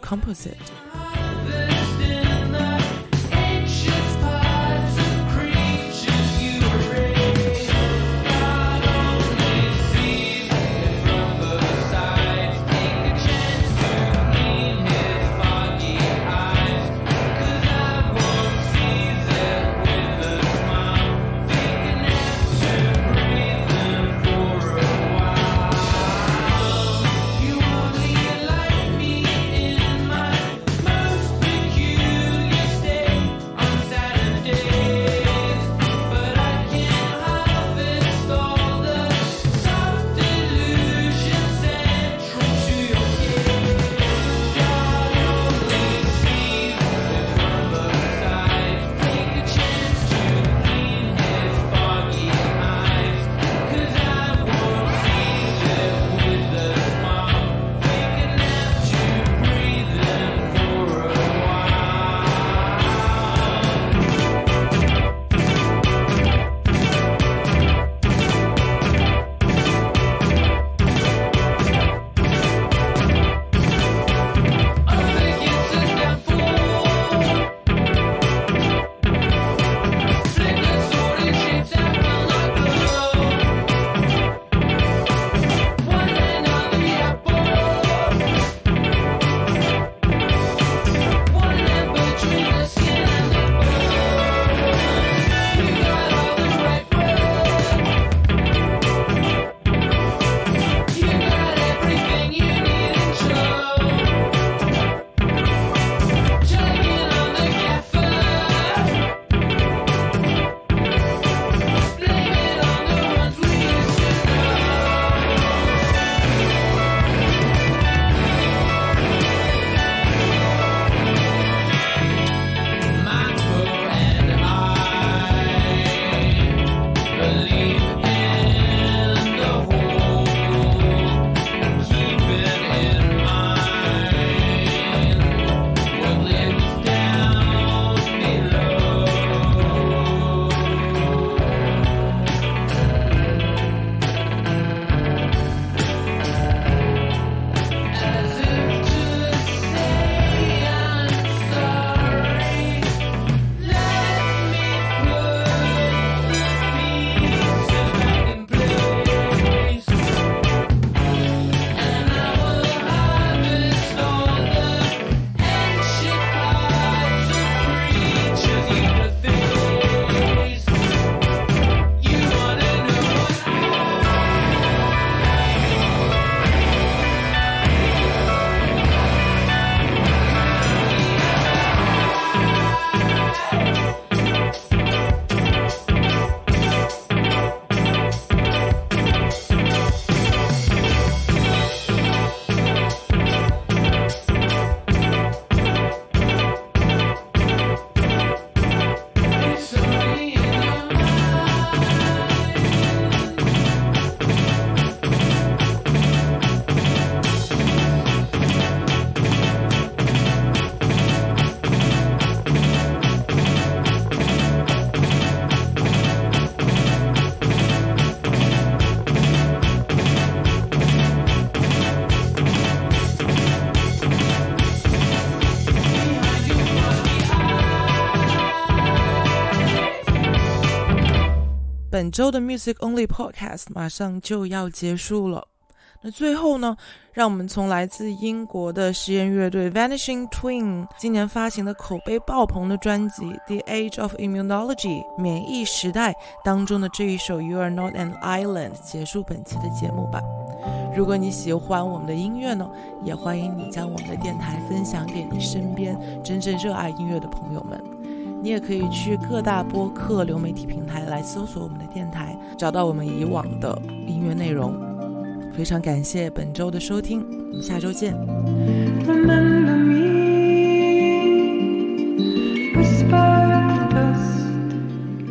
Concept。本周的 Music Only Podcast 马上就要结束了。那最后呢，让我们从来自英国的实验乐队 Vanishing Twin 今年发行的口碑爆棚的专辑 The Age of Immunology 免疫时代当中的这一首 You Are Not an Island 结束本期的节目吧。如果你喜欢我们的音乐呢，也欢迎你将我们的电台分享给你身边真正热爱音乐的朋友们。你也可以去各大播客流媒体平台来搜索我们的电台，找到我们以往的音乐内容。非常感谢本周的收听，我们下周见。Remember me, whisper the dust,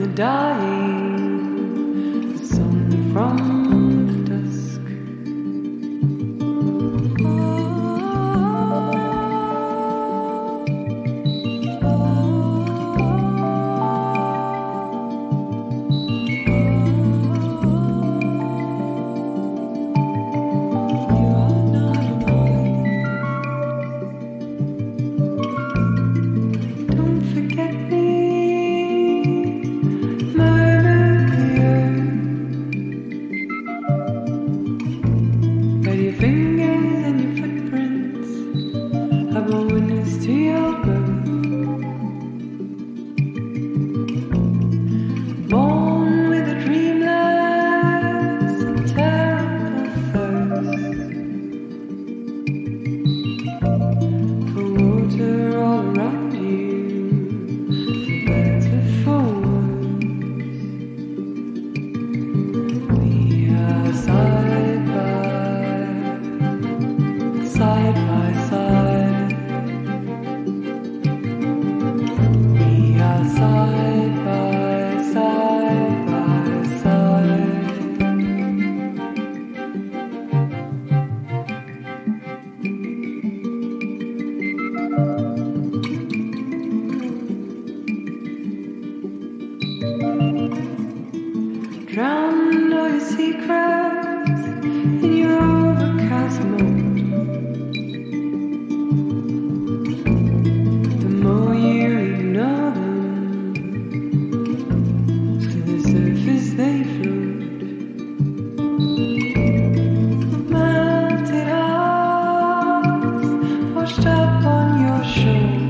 dying, a song from the dusk. Don't forget me, but your fingers and your footprints have a witness to your birth. Born with a dreamless and terrible thirst for water all around you, for better, for worse. We are side by side. We are side by side. Drown all your secrets in your overcast mood. The more you ignore them, to the surface they float. Melted hearts washed up on your shore.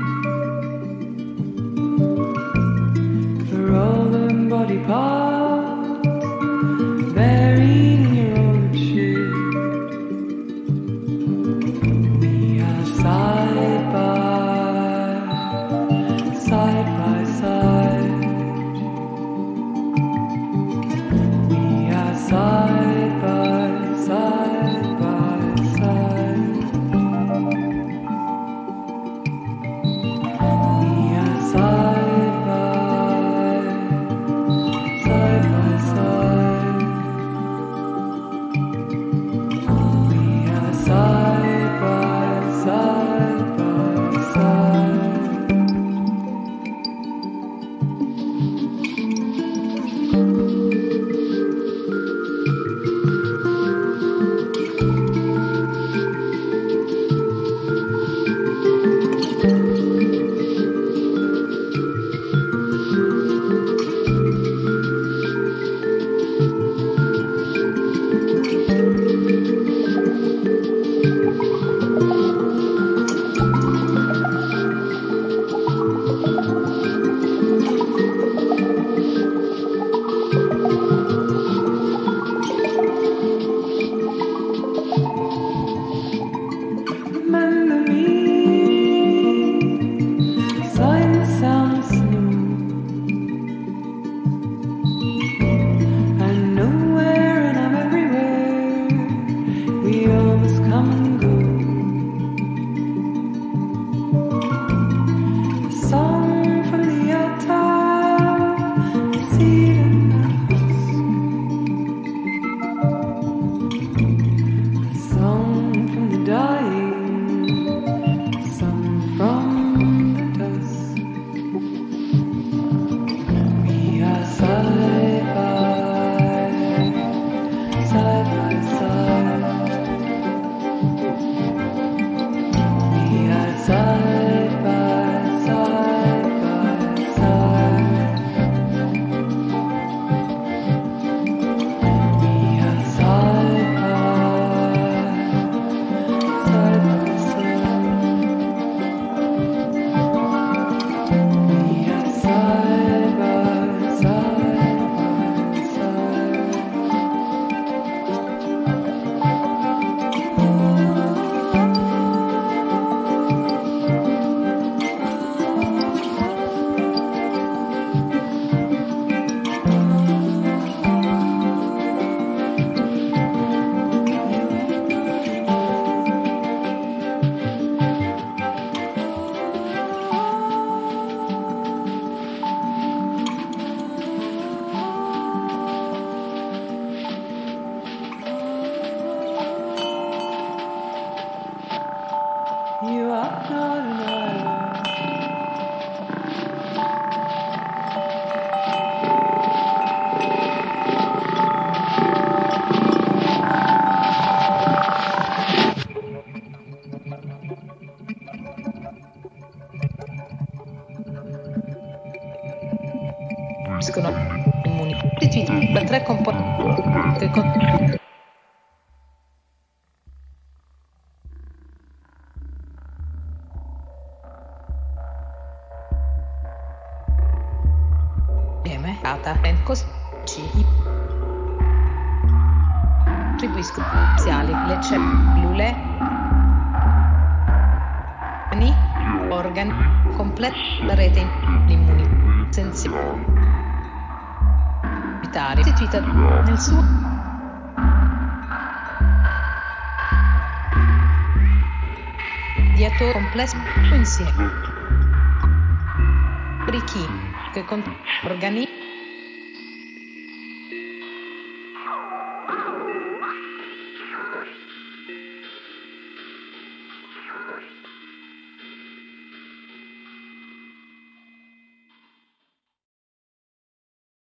For all the body parts buried in your orchard. We are side by side. We are side by side. We are side by side. costituiscono immuni costituiti da 3 componenti che attribuiscono le cellule organi completa la rete immunitaria costituita nel suo diato complesso insieme che con organi